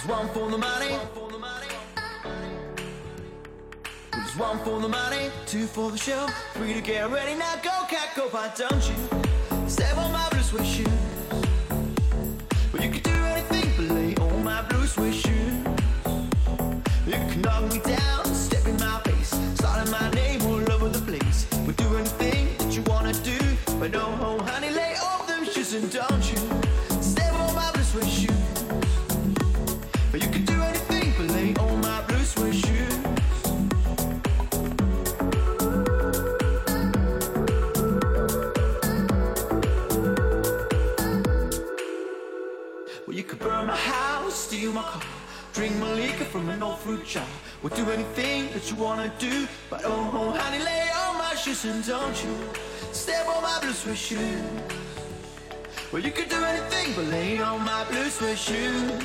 There's one for the money. There's one for the money, two for the show, three to get ready. Now go, cat, go, but don't you step on my blue suede shoes. Well, you can do anything but lay on my blue suede shoes. You can knock me down, step in my face, starting my name all over the place. We'll do anything that you wanna do, but no, honey, lay off them shoes and don't you step on my blue suede shoes. But you can do anything but lay on my blue suede shoes. Well, you could burn my house, steal my car, drink my liquor from an old fruit jar. We'll do anything that you wanna do, but oh, honey, lay on my shoes and don't you step on my blue suede shoes. Well, you could do anything but lay on my blue suede shoes.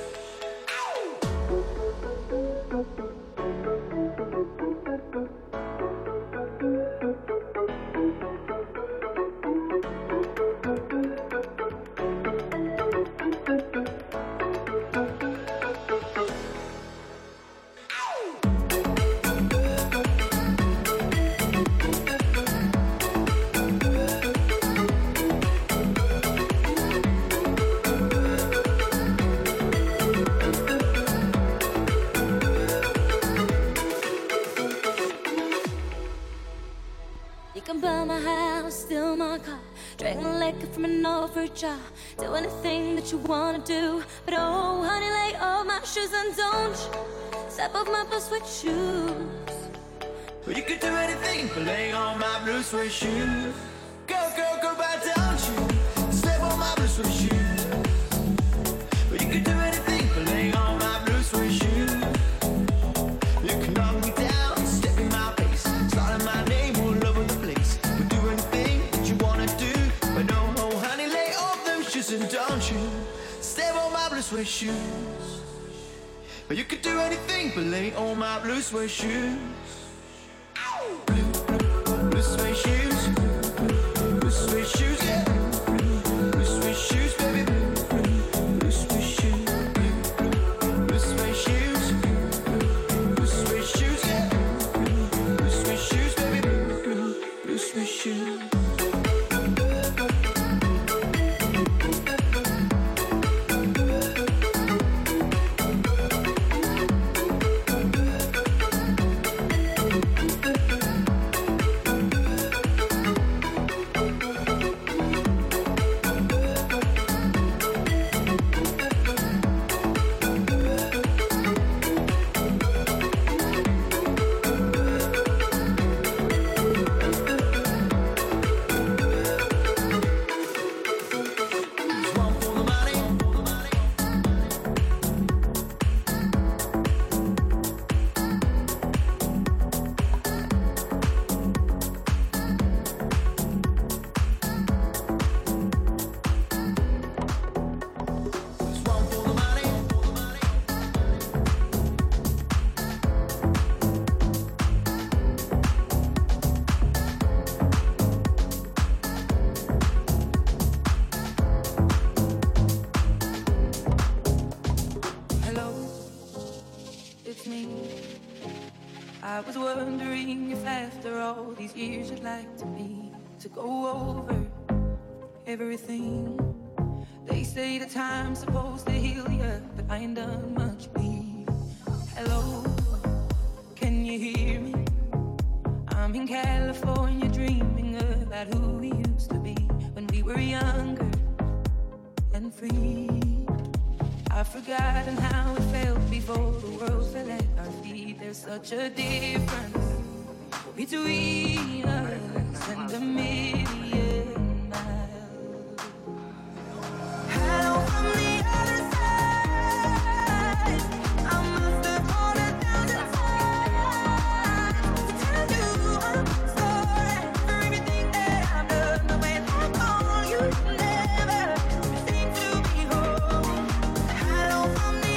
From an old fruit jar, do anything that you wanna do, but oh, honey, lay off my shoes and don't you step off my blue suede shoes. Well, you could do anything but lay on my blue suede shoes. Go, go, go, but don't you step on my blue suede shoes. Well, you could do anything but lay on my blue suede shoes. You can knock me down, step in my face, starting my name all over the place. We'll do anything that you wanna do, but no, honey, lay off them shoes and don't you step on my blue suede shoes. But you could do anything but lay on my blue suede shoes. Blue suede shoes, blue suede shoes, yeah. Blue suede shoes, baby. Blue suede shoes, blue suede shoes, blue suede shoes, yeah. Blue suede shoes, baby. Blue suede shoes. To go over everything. They say the time's supposed to heal you, but I ain't done much, babe. Hello, can you hear me? I'm in California dreaming about who we used to be when we were younger and free. I've forgotten how it felt before the world fell at our feet. There's such a difference between us and a million miles. Hello from the other side. I must have gone 1,000 times to tell you I'm sorry for everything that I've done. The way I call you never seem to be home. Hello from the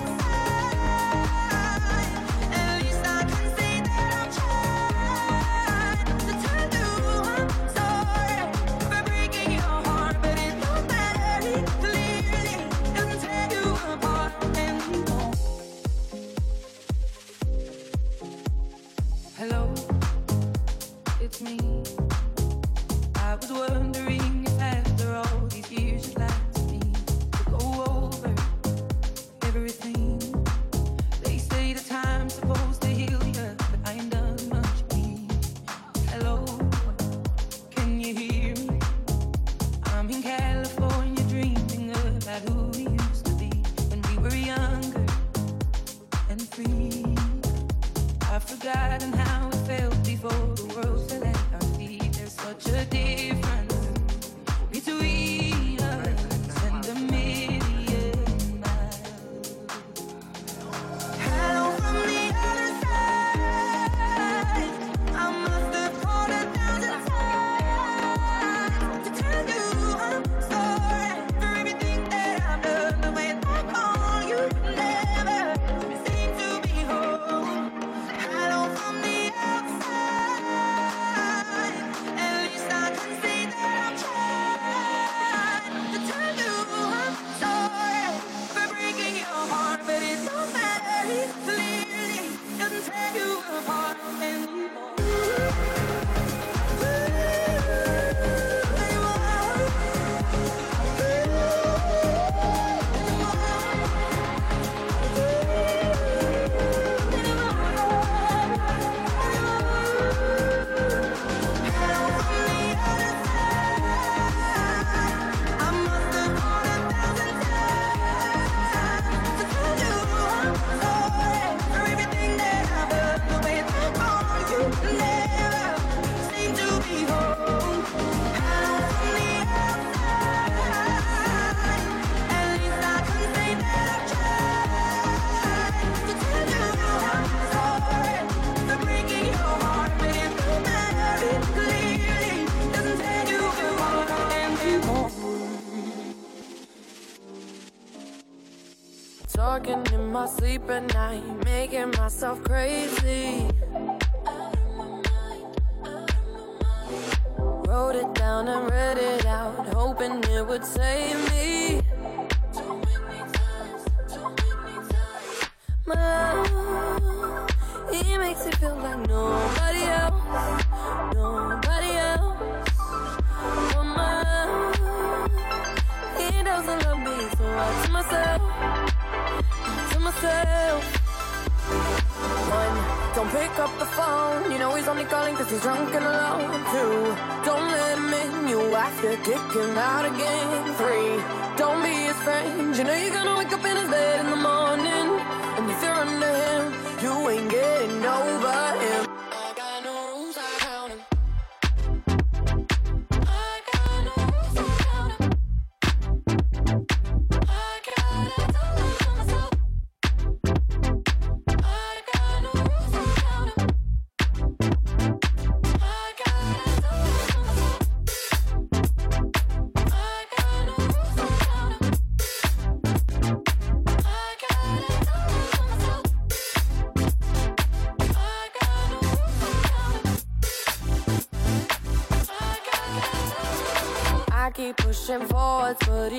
outside. At least I can say that I'm trying to tell you I'm towards me. I was wondering if after all these years you'd like to me to go over everything. They say the time's supposed to heal you, but I ain't done much me. Hello, can you hear me? I'm in California dreaming about who we used to be when we were younger and free. I've forgotten how it felt before the world fell at our feet. There's such a difference between us and a million miles. Hello from the other side. I must have called 1,000 times to tell you I'm sorry for everything that I've done. The way back on you never seem to be home. Hello from the outside. At least I can say that I've tried to tell you I'm sorry for breaking your heart, but it don't matter. It clearly doesn't tear you apart anymore. Talking in my sleep at night, making myself crazy. Wrote it down and read it out, hoping it would save me. My love, he makes it feel like nobody else, nobody else. Oh my love, he doesn't love me, so I tell myself. One, don't pick up the phone. You know he's only calling cause he's drunk and alone. Two, don't let him in. You have to kick him out again. Three, don't be his friend. You know you're gonna wake up in his bed in the morning, and if you're under him, you ain't getting over him. I got no rules, I count him. I got no rules, I count him. I gotta tell myself. I keep pushing forwards, but he